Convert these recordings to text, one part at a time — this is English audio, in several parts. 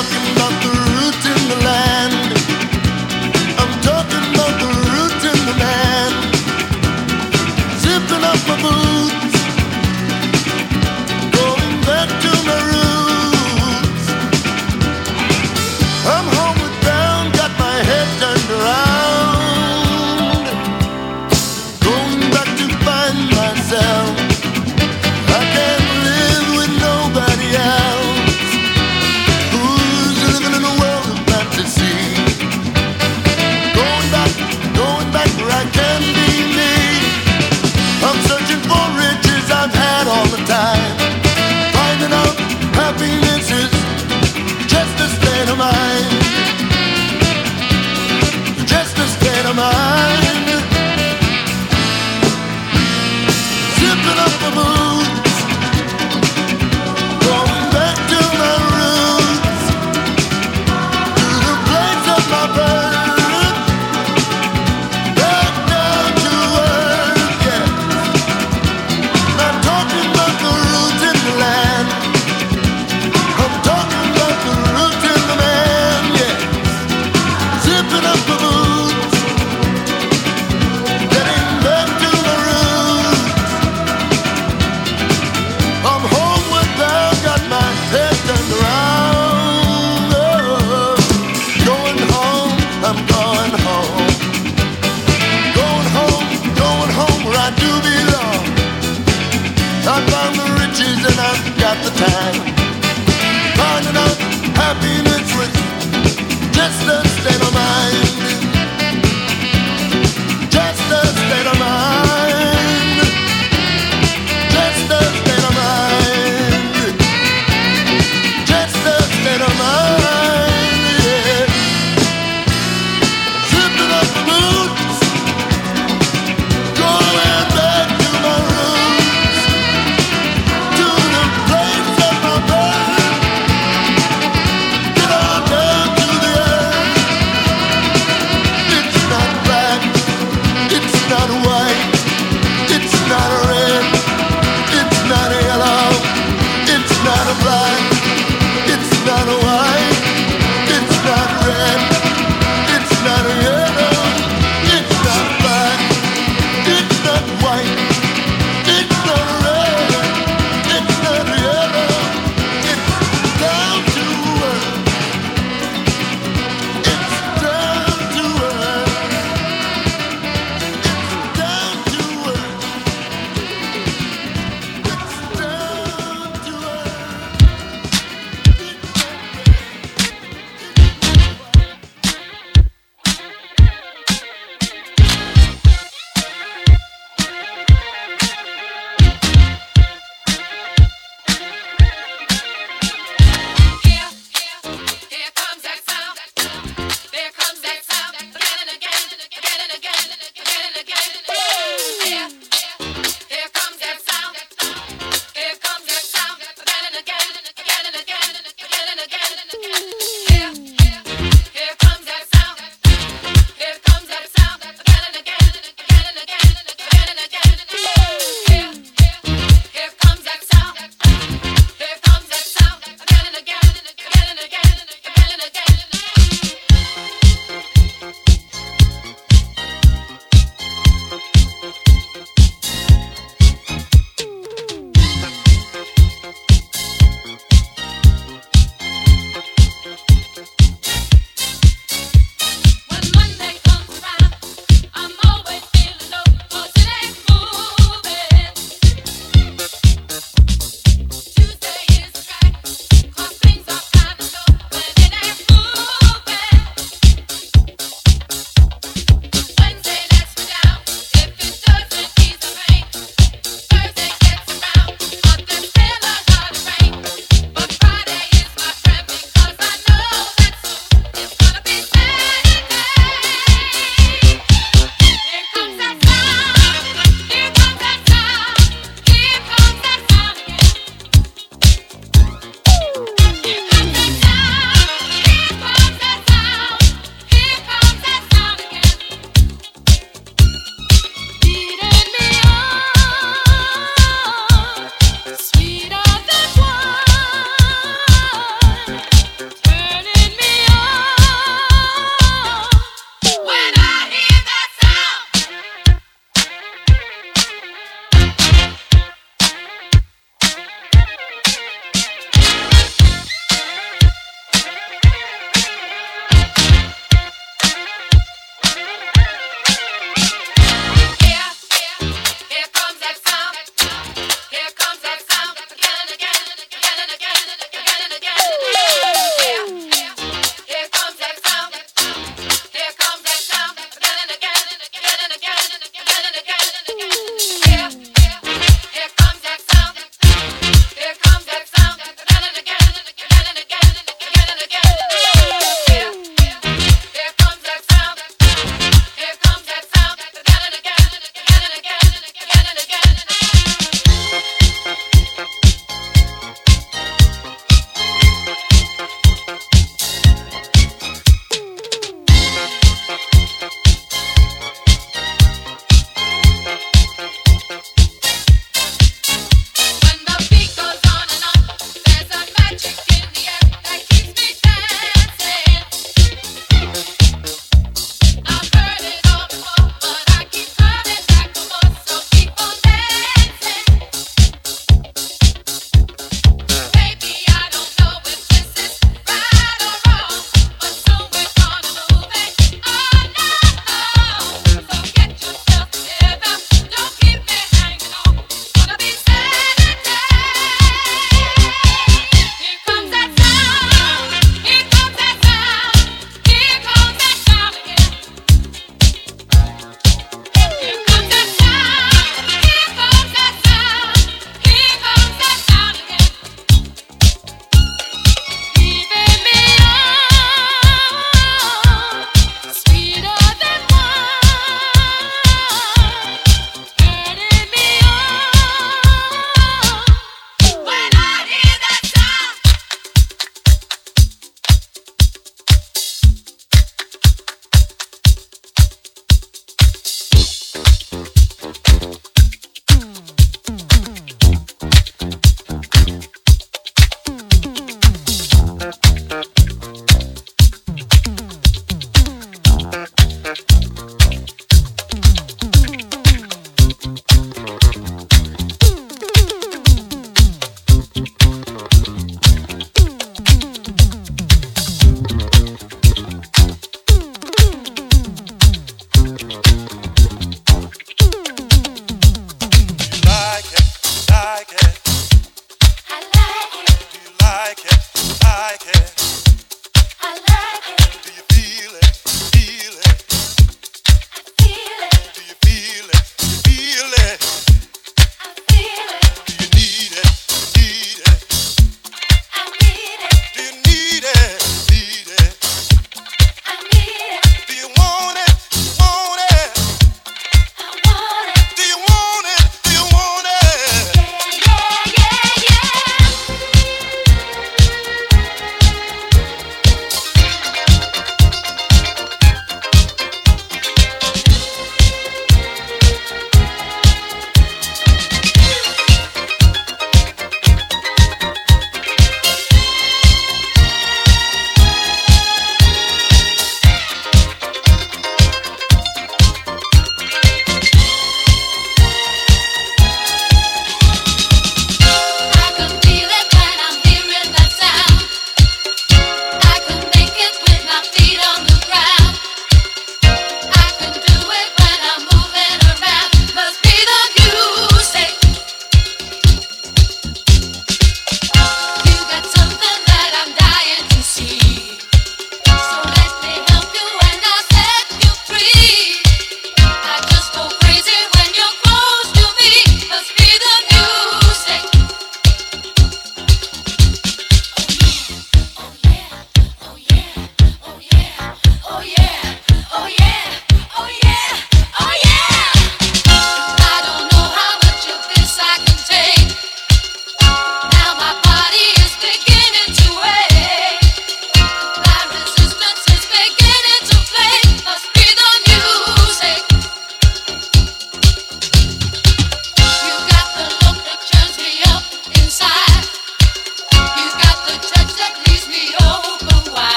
talking about the roots in the land. I'm talking about the roots in the land. Zipping up my boots, going back to my roots. I'm homeward bound, got my head turned around, going back to find myself. I can't live with nobody else who's living in a world of fantasy.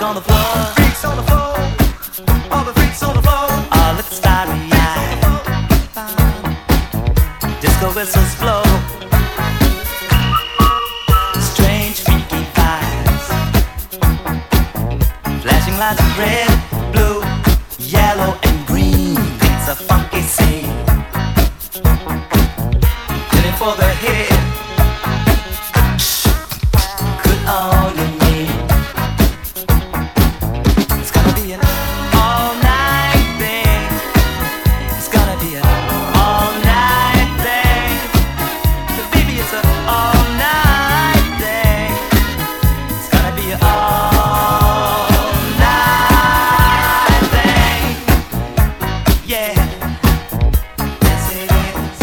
on the floor. Freaks on the floor. All the freaks on the floor. All look starry-eyed. Disco whistles blow. Strange freaky vibes. Flashing lights of red, blue, yellow and green. It's a funky scene. Heading for the head. Good on your knee. It's gonna be an all-night thing. It's gonna be an all-night thing. Baby, it's an all-night thing. It's gonna be an all-night thing. Yeah. Yes, it is.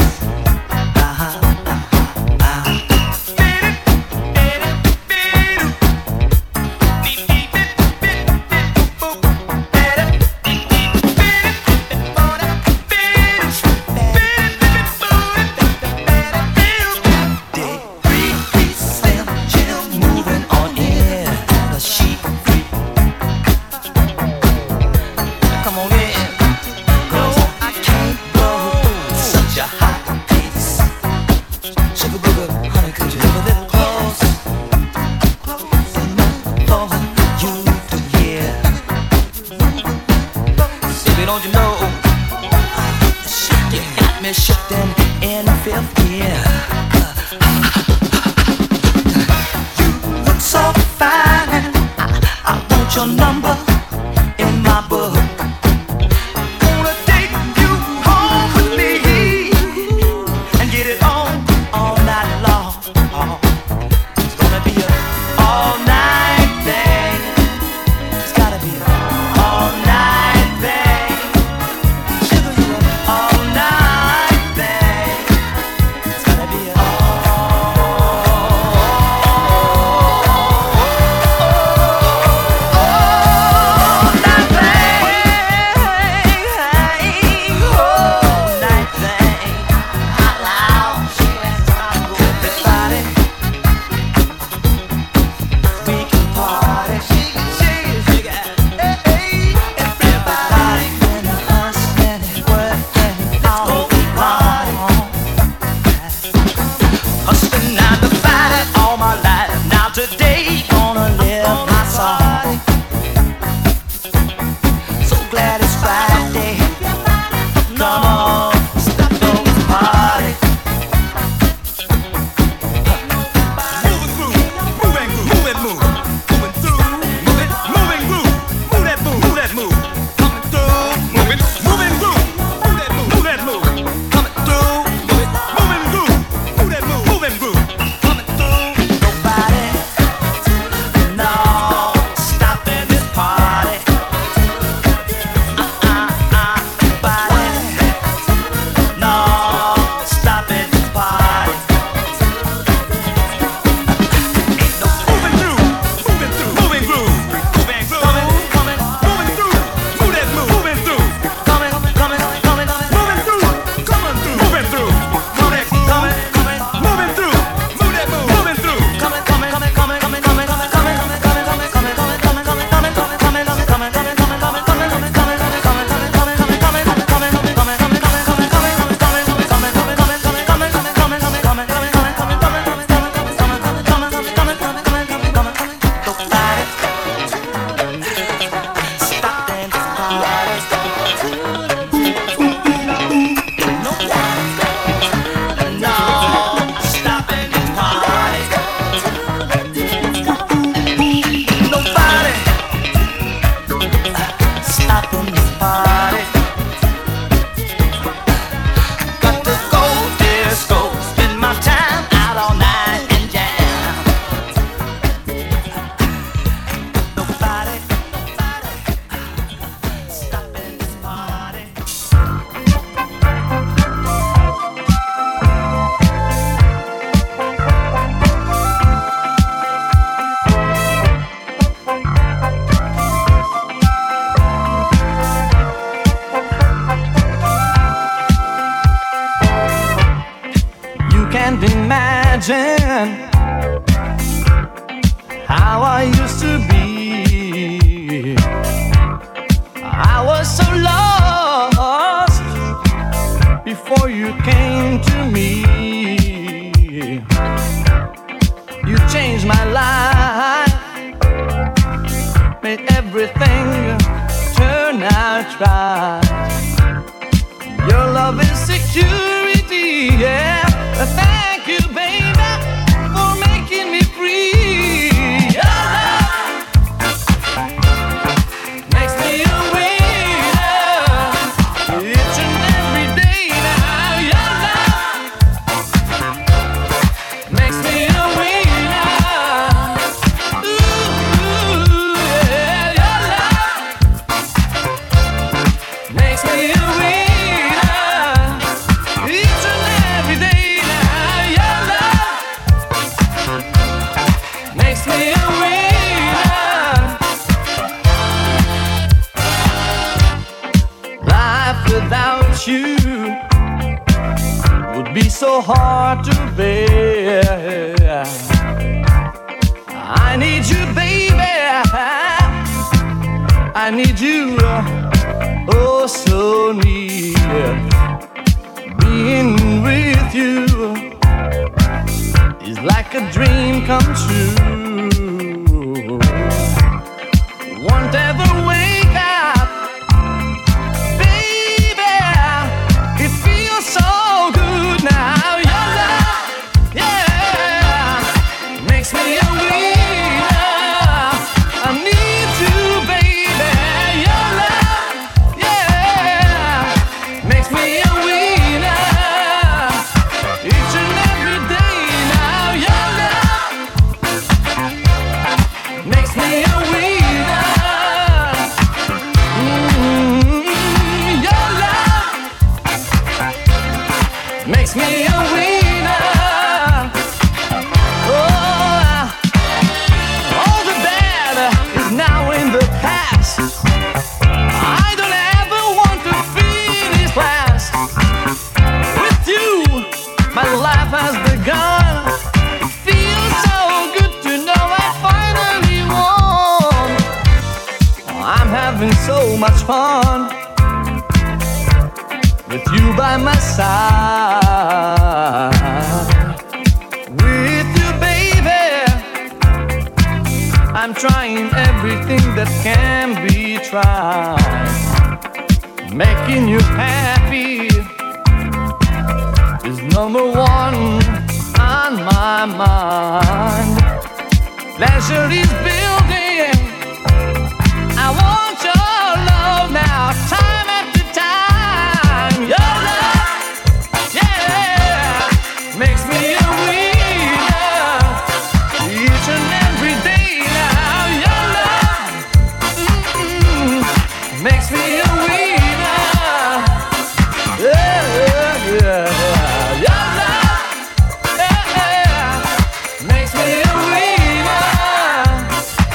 Come on in, 'cause I can't go such a hot pace. Sugar booger, honey, could you live a little close? Enough for you to hear. Baby, don't you know? You got me shifting in fifth gear. You look so fine. I want your number in my book. Gonna take you home with me and get it on all night long. It's gonna be an all-night thing. It's gotta be an all-night thing. Sugar, you an all-night thing. It's gotta be an all-night made everything turn out right. Your love is security, yeah. Thank you, baby, for making me free. Your love makes me a winner each and every day now. Your love makes me a winner. Ooh, yeah, your love makes me a winner each and every day now. Your love makes me a winner. Life without you would be so hard to bear. I need you, baby. I need you, oh so near. Being with you is like a dream come true. Won't ever wake up, baby. It feels so good now. Your love, yeah, makes me a winner. I need you, baby. Your love, yeah, makes me a winner each and every day now. Your love makes me a winner. Your love makes me a winner. Oh, all the bad is now in the past. I don't ever want to finish last. With you, my life has begun. It feels so good to know I finally won. I'm having so much fun with you by my side. With you, baby, I'm trying everything that can be tried. Making you happy is number one on my mind. Pleasure is building. I want your love now, time after time. Your love, yeah, makes me a winner each and every day now. Your love, makes me a winner. Yeah, yeah, yeah. Your love, yeah, makes me a winner.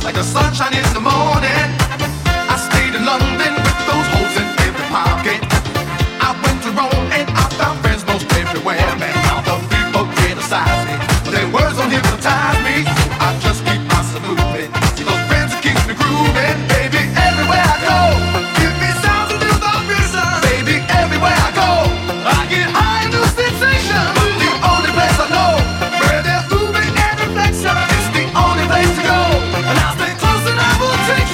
like the sunshine in the morning. I stayed in London with those holes in every pocket. I went to Rome and I found friends most everywhere. Man, all the people criticize me, but their words don't hypnotize me. So I just keep myself moving. See those friends that keep me grooving, baby. Everywhere I go, give me sounds of new vibration, baby. Everywhere I go, I get high new sensation. But the only place I know where there's movement and reflection, it's the only place to go. And I'll stay close and I will take you.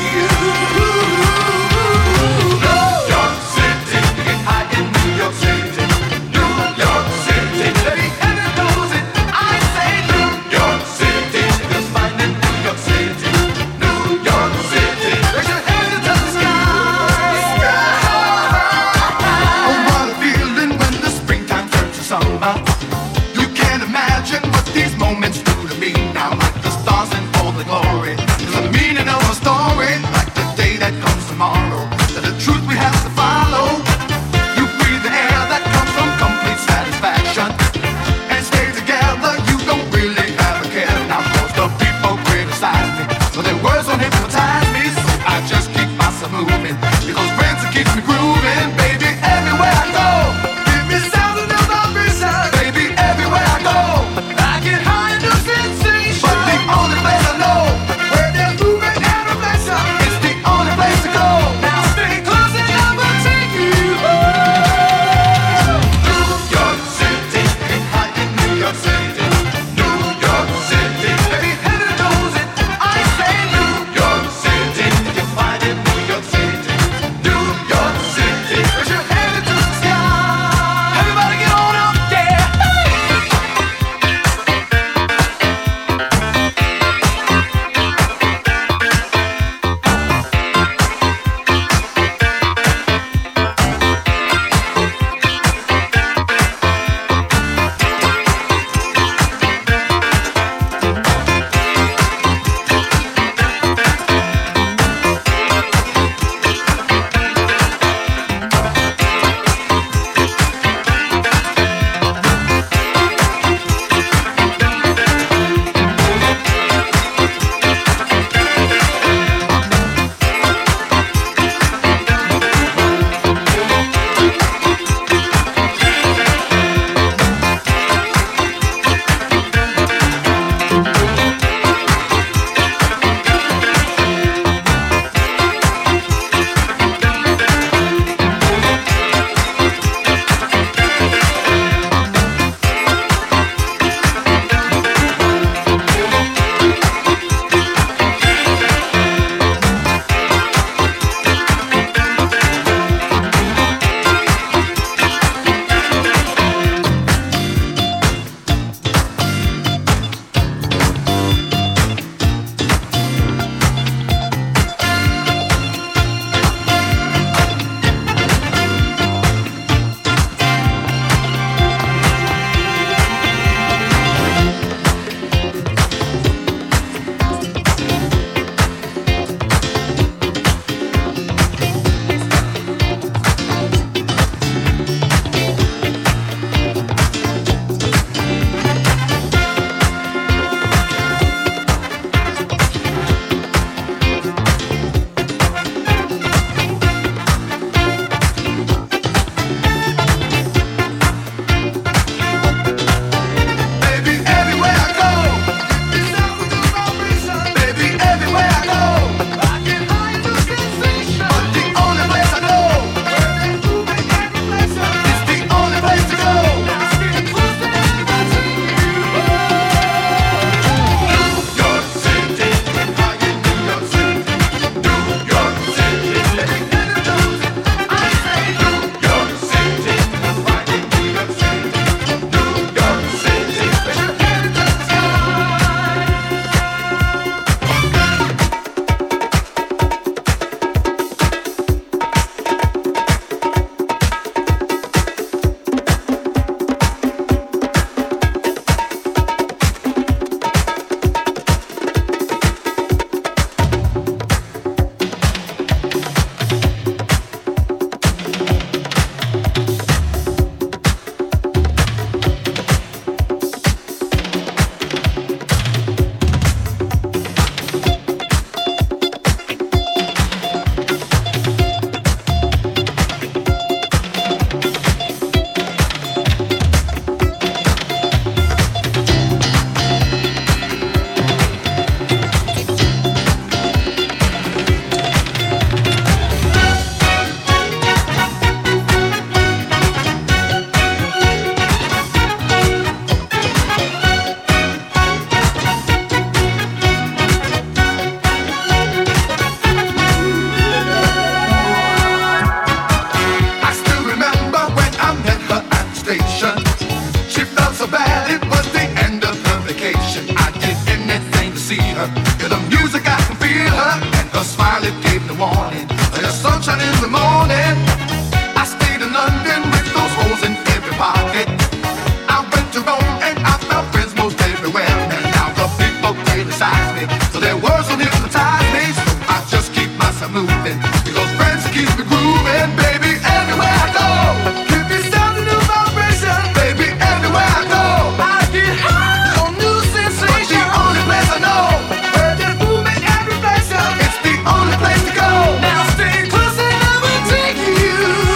warning. There's sunshine in the morning. I stayed in London with those holes in every pocket. I went to Rome and I found friends most everywhere. And now the people criticize me, so their words will hypnotize me. So I just keep myself moving, because friends keep me grooving, baby. Everywhere I go, keep me sounding new vibration, baby. Everywhere I go, I get high on new sensation. The only place I know where there's movement and reflection, it's the only place to go. Now stay close and I will take you.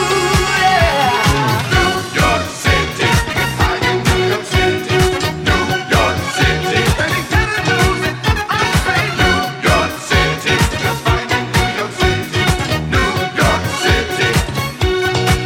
New York City, I in New York City, New York City. Any kind of music, I say New York City, just fine in New York City, New York City, New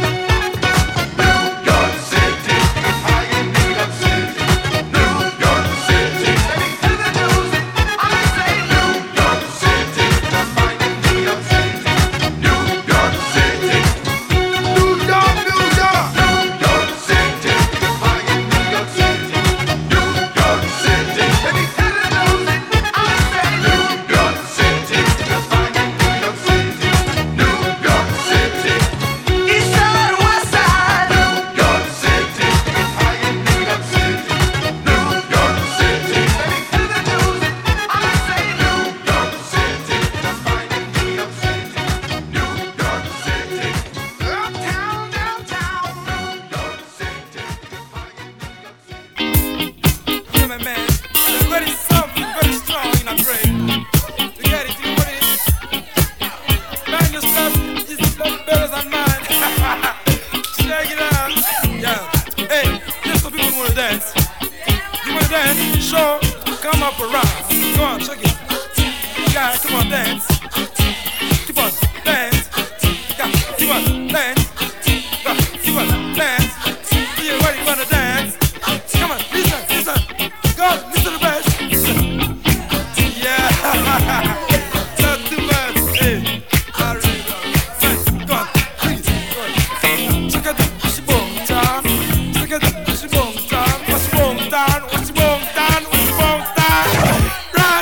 York City, I in New York City, New York City. Any kind of music, I say New York City, just fine in New York City, New York City. New York, New York, New York City, I in New York City, New York City. Any kind of music, I say New York City, just fine in New York City, New York City. East side, west side, New York City, I in New York City, New York City. Any kind of music, I say New York City, just fine in New York City, New York City. Uptown, downtown, New York City, I in New York City. Yeah, my man. They're very soft and very strong in a brain. You get it? You know what it is? Man, your stuff is better than mine. Check it out. Yeah. Hey, just for people who wanna dance. You wanna dance? Sure. Come up around. Go on, check it. Guys, come on, dance. Keep on, dance. Yeah, keep on, dance. Keep on, dance. Yeah, where you wanna dance? Come on, listen, listen. Go, listen to the bass. Yeah. Not too bad. Hey, I really love it. Go on, please. Go on. Check out the push boom down. Check out the push boom down. Push boom down. Push boom down. Push boom down. Right.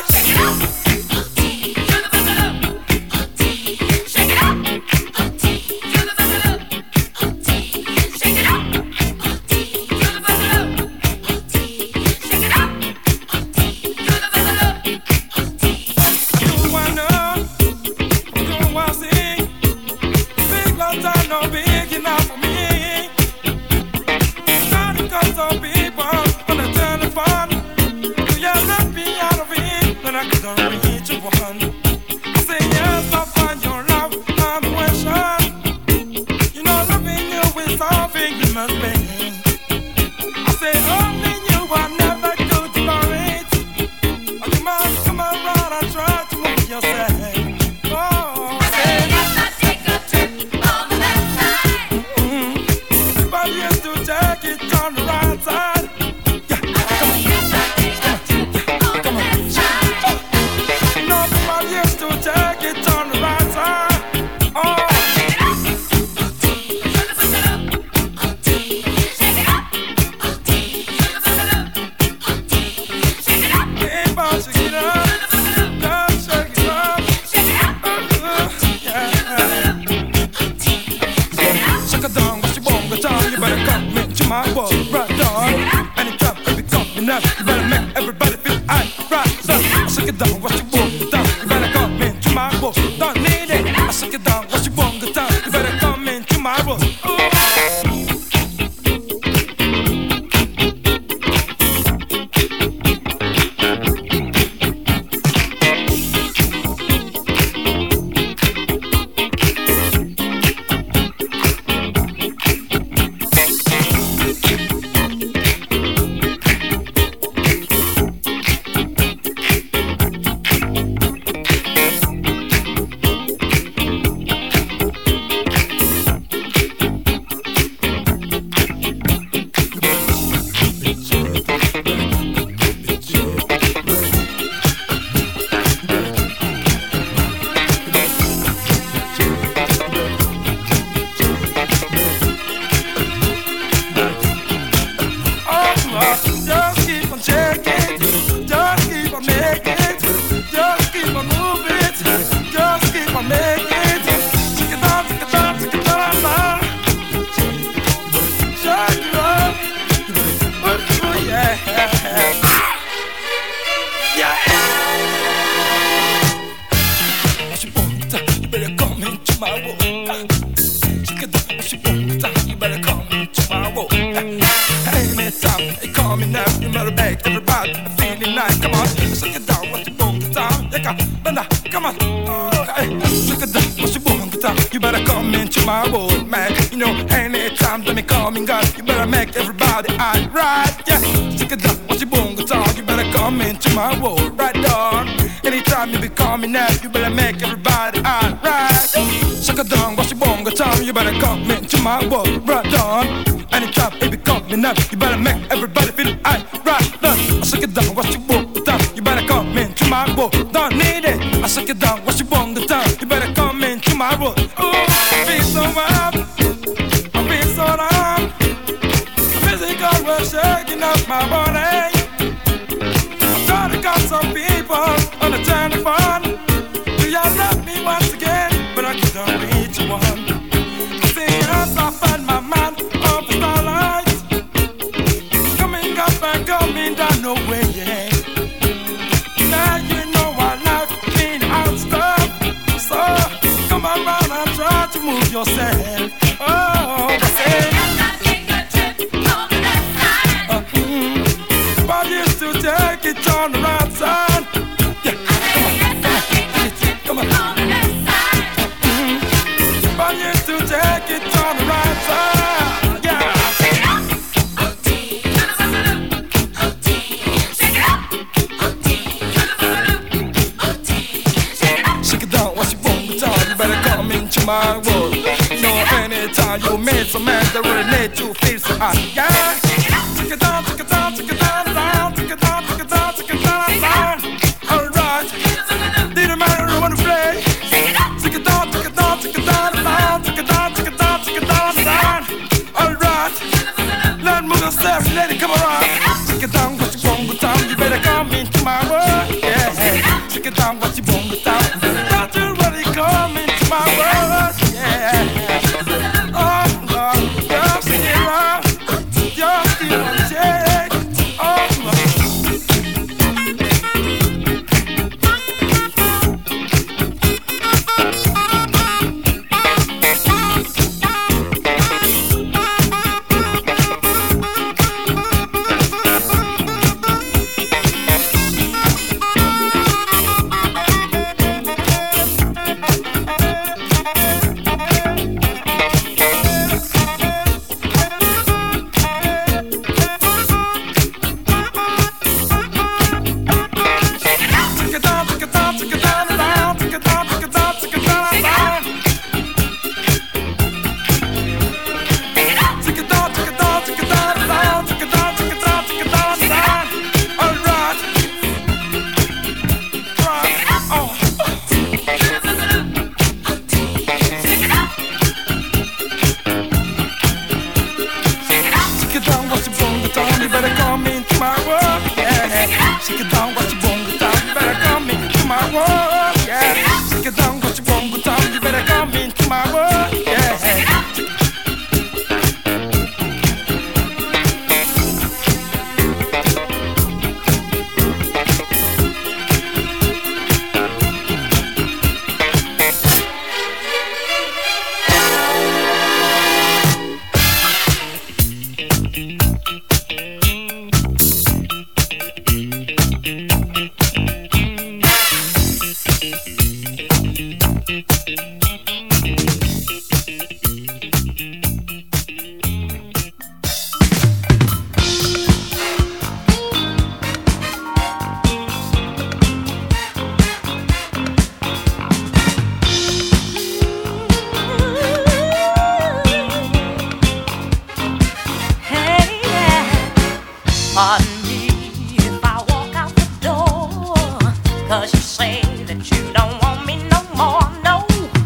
You wanna know? You wanna see? Big long time no big enough for me. Not because of people on the telephone. You left me out of it, then I couldn't reach you one. I say yes, I find your love unquestioned. You know loving you is something you must be. I say only you are never good for it. You must come around and try to move yourself. Oh, but you have to take it on the right side. Yeah, come on, come on. Nobody used to take it on the right side. Oh, yeah, but shake it up, don't shake it up. Yeah. Shake it down, what you want, go down. You better come into my world, right on. Anytime, baby, come enough. You better make everybody feel right. So, shake it down, what you want, go down. You better come into my world, don't need it. I shake it down, what you want, go down. You better come into my world. world. Shake it down, what you want down, you better come into my world. Anytime you call me now, you better make everybody feeling nice. Come on, shake it down, what you want down, yeah, come on. Shake it down, what you want down, you better come into my world, man. You know, anytime that me coming, God, you better make everybody alright, yeah. Shake it down, what you want down, you better come into my world, right on. Anytime you be coming now, you better make everybody alright. Shake it down, what you want down, you better come into my world, right on. Anytime you be coming now, you better make everybody feel alright. I shake it down, what you want down, you better come into my world. Don't need it. I shake it down, what you want down, you better come into my world. Ooh, I feel so up, I feel so down. Physical was shaking up my body. I'm trying to call some people on the telephone. Do y'all love me once again? But I can't reach one. I see us, I find my man of the starlight. Coming up and coming down, no way, yeah. Now you know I like being out stuff. So come around and try to move yourself. Oh, I say. But used to take it on the right side. Yeah, come on. But used to take it on the right side. Yeah. Shake it down, what you want down, you better come into my world. You know, anytime you meet some man that really need to feel so hot. Yeah. Take it down, take it down, take it down, down, take it down, take it down, take it down, down. Alright. Didn't matter who wanna play. Take it down, take it down, take it down, down, take it down, take it down, take it down, down. Alright. Let me move yourself, let it come around. Take it down, what you want down, you better come into my world. Yeah. Take it down, what you want down. Don't you really come into my world. Yeah. Oh, Lord, just sing it around. Just feel on shake. Oh, Lord. Pardon me if I walk out the door, 'cause you say that you don't want me no more, no.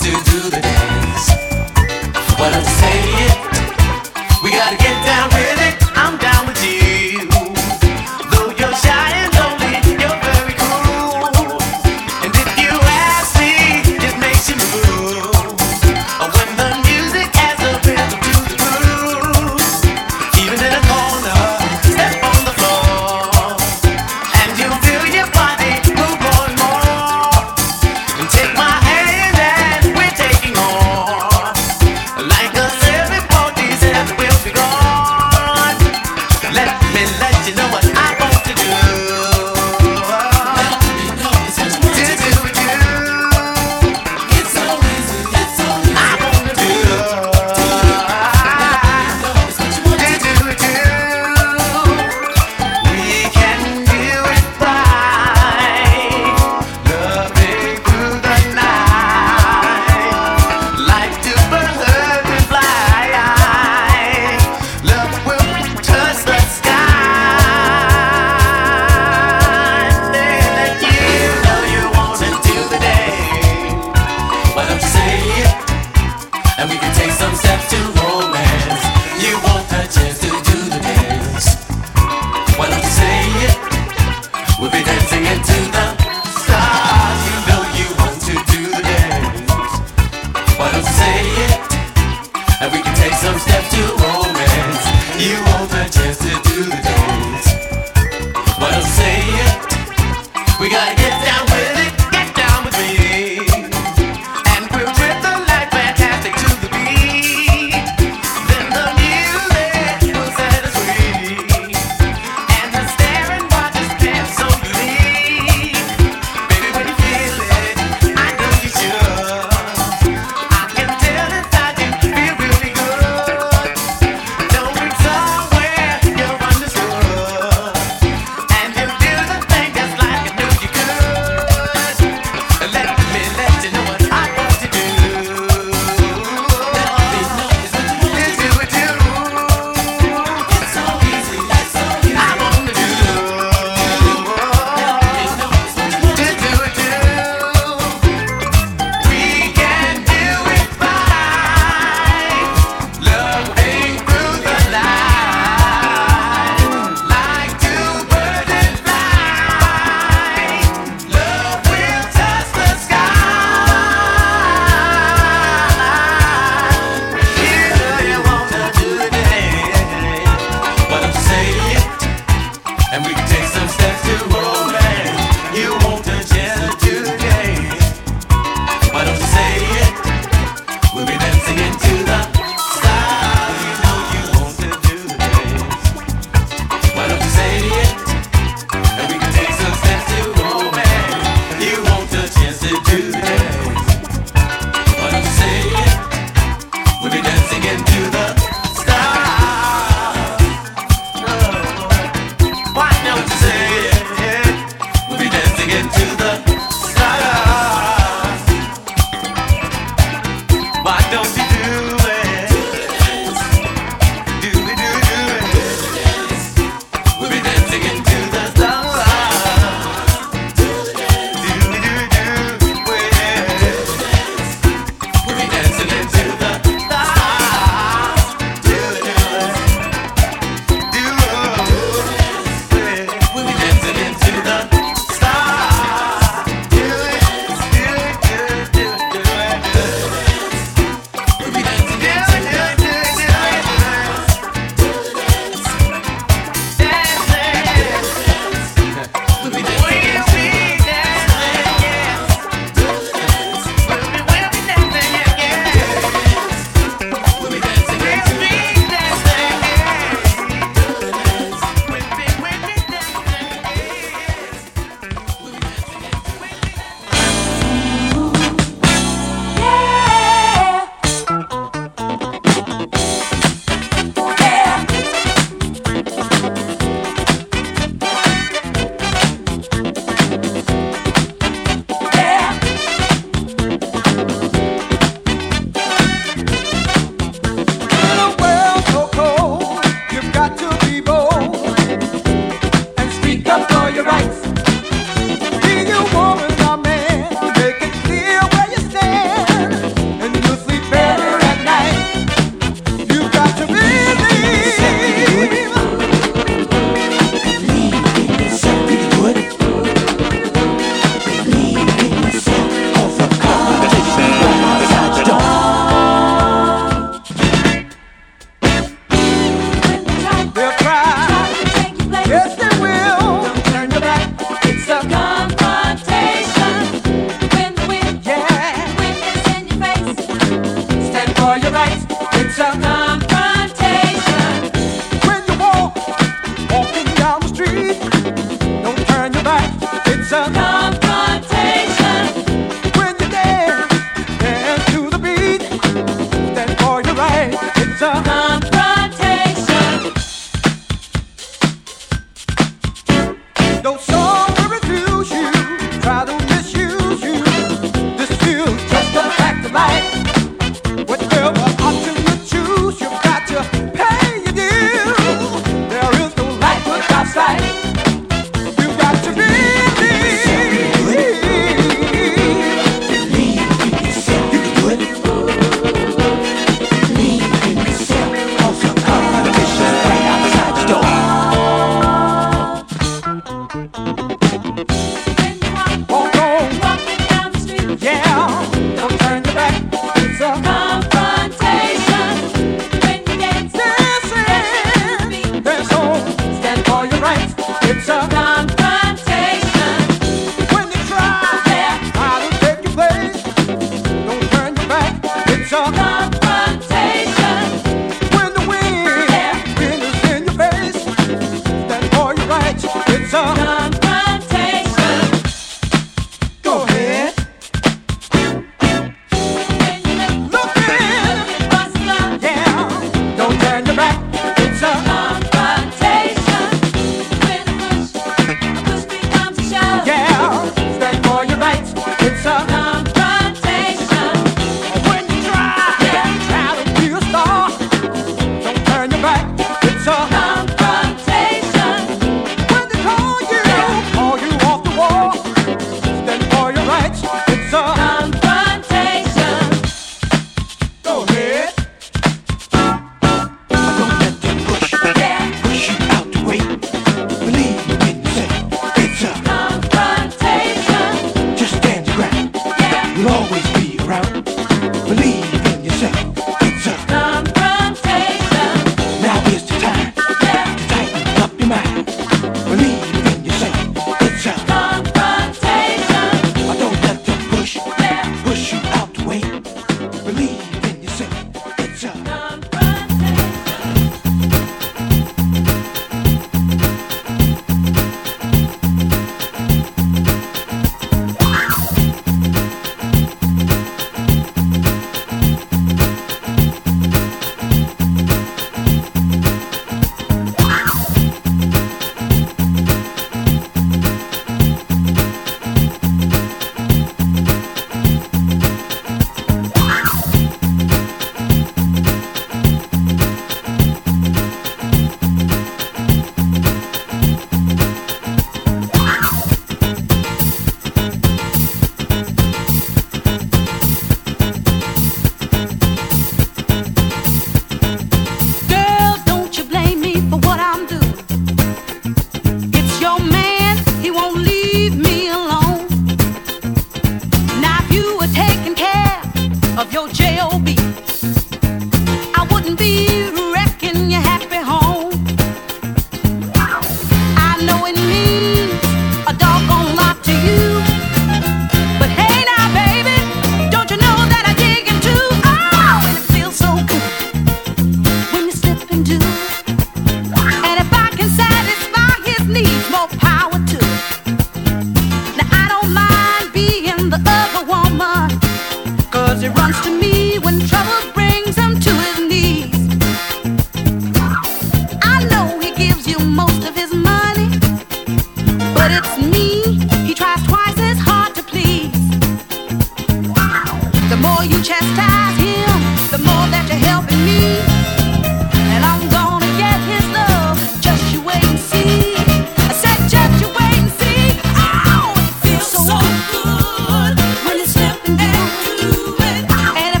So good when it's stepping down to it. And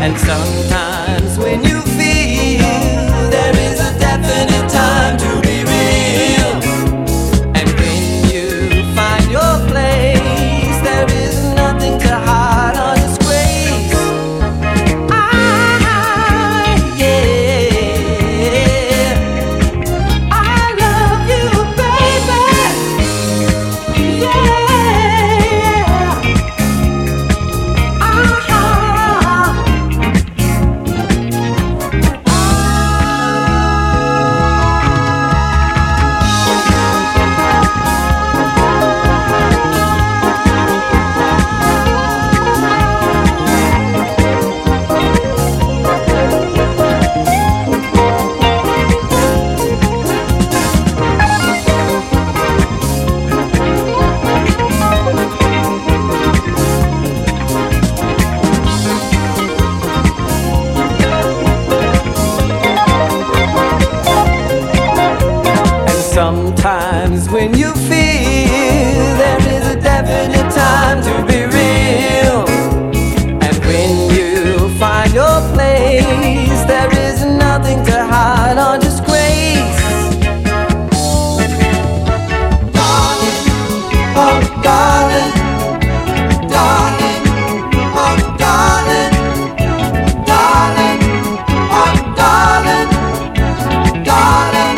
And sometimes when you feel there is a definite time to be real, and when you find your place, there is nothing to hide or disgrace. I love you, baby. Yeah. Sometimes when you feel there is a definite time to be real, and when you find your place, there is nothing to hide or disgrace. Darling, oh darling, darling, oh darling, darling, oh darling, darling.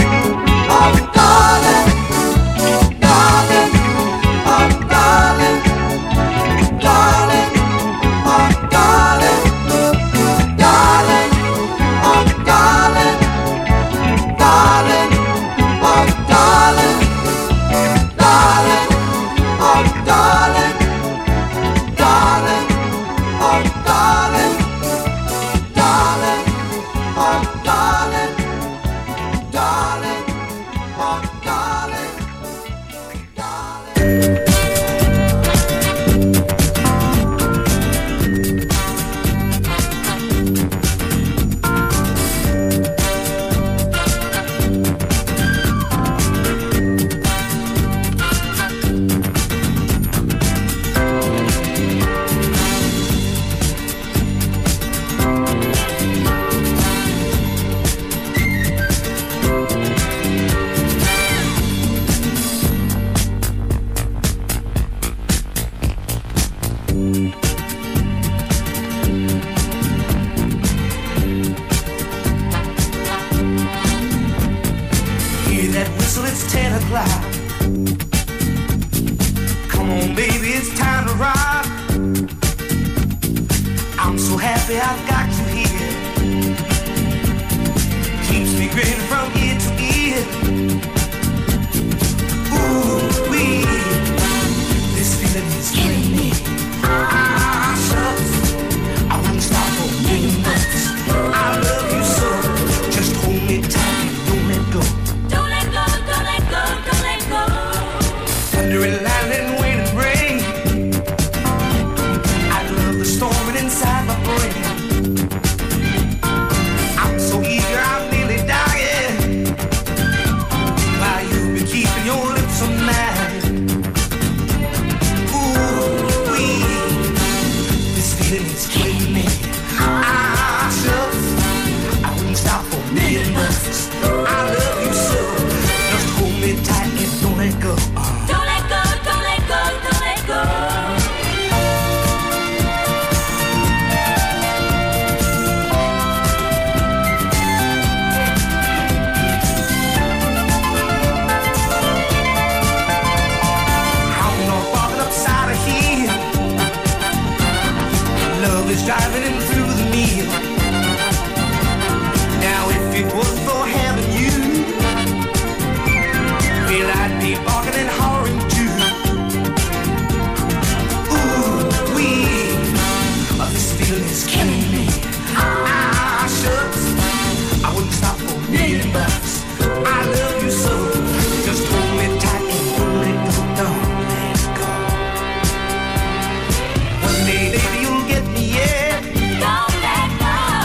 Don't let go.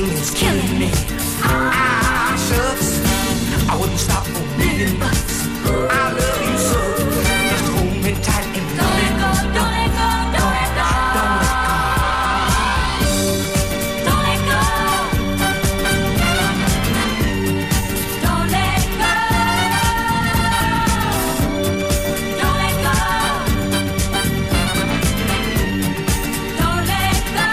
feeling's killing me. Ah, shucks, I wouldn't stop for a million bucks. I love you so, just hold me tight and don't let go, don't let go, don't let go, don't let go. Don't let go. Don't let go. Don't let go. Don't let go.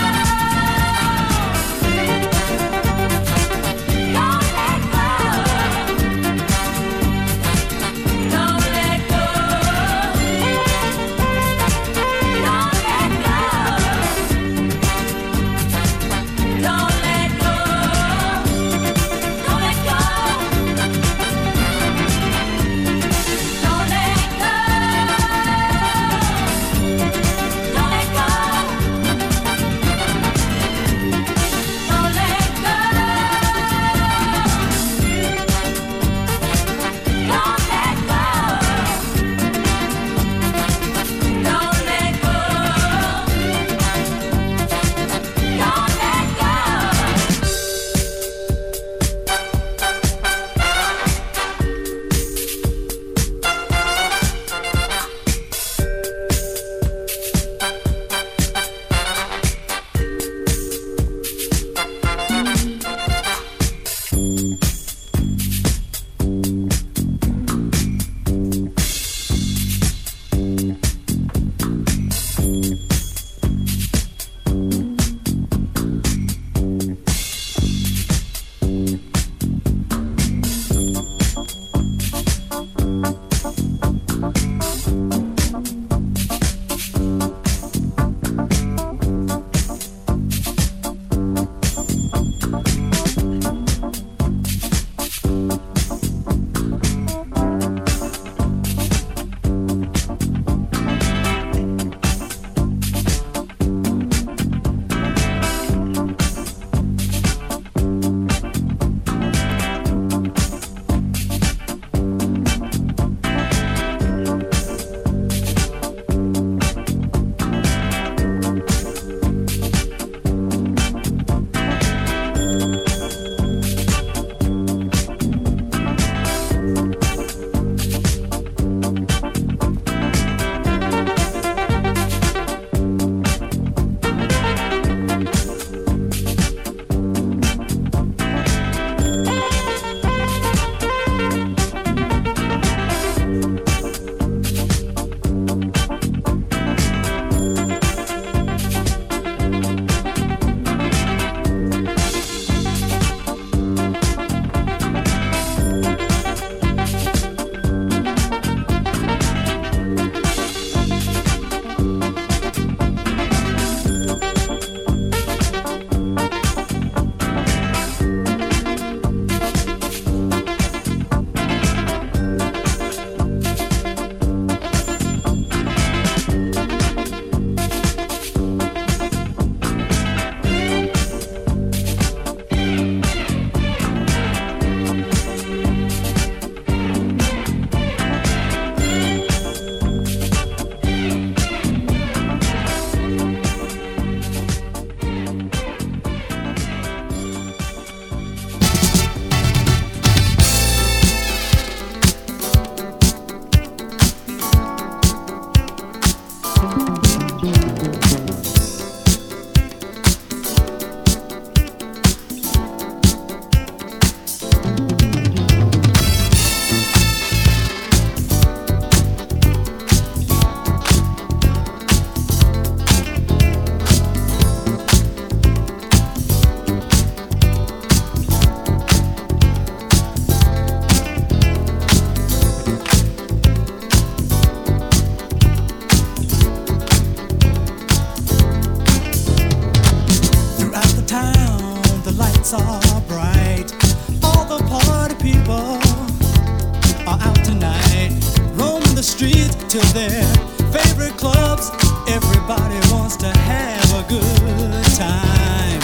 to their favorite clubs. Everybody wants to have a good time.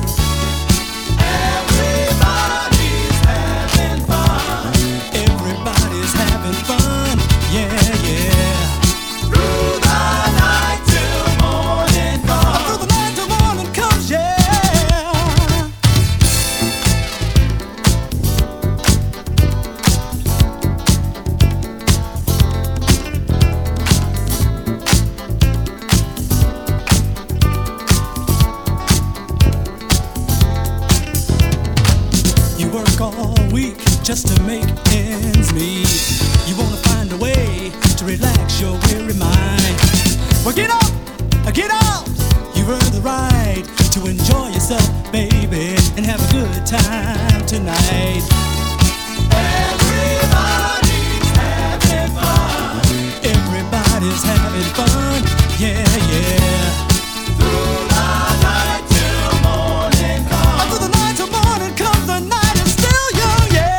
Everybody's having fun. Everybody's having fun. Yeah, yeah. Through the night till morning comes. Through the night till morning comes, yeah. work all week just to make ends meet. You wanna find a way to relax your weary mind. Well, get up, get out. You've earned the right to enjoy yourself, baby, and have a good time tonight. Everybody's having fun. Everybody's having fun. Yeah, yeah. Through the night till morning comes. Through the night till morning comes. The night is still young, yeah.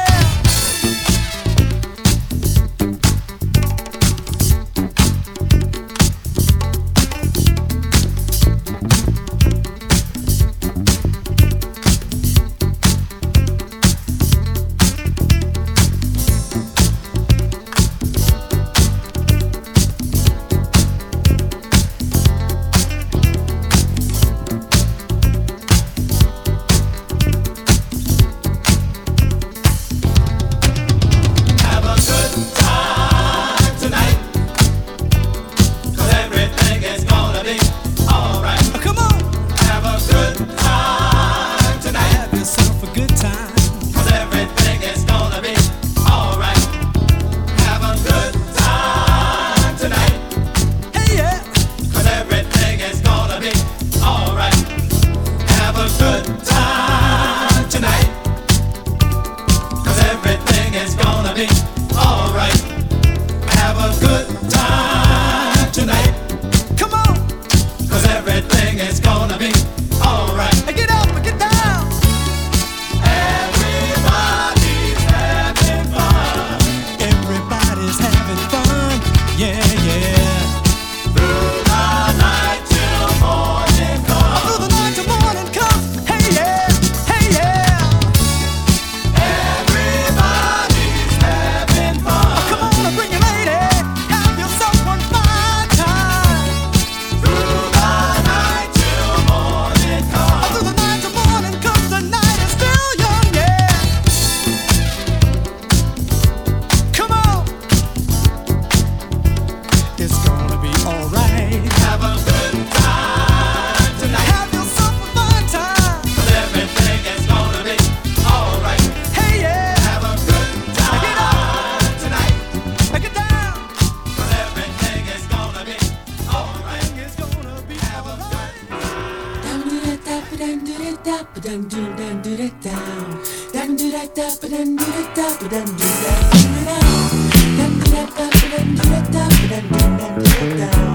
Down.